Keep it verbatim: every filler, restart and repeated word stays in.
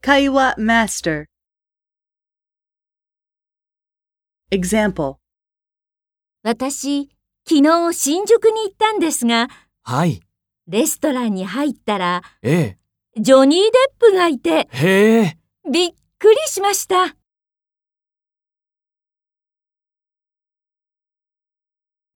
会話マスター Example 私、昨日新宿に行ったんですが、 はい。 レストランに入ったら、 ええ。 ジョニー・デップがいて、 へえ。 びっくりしました。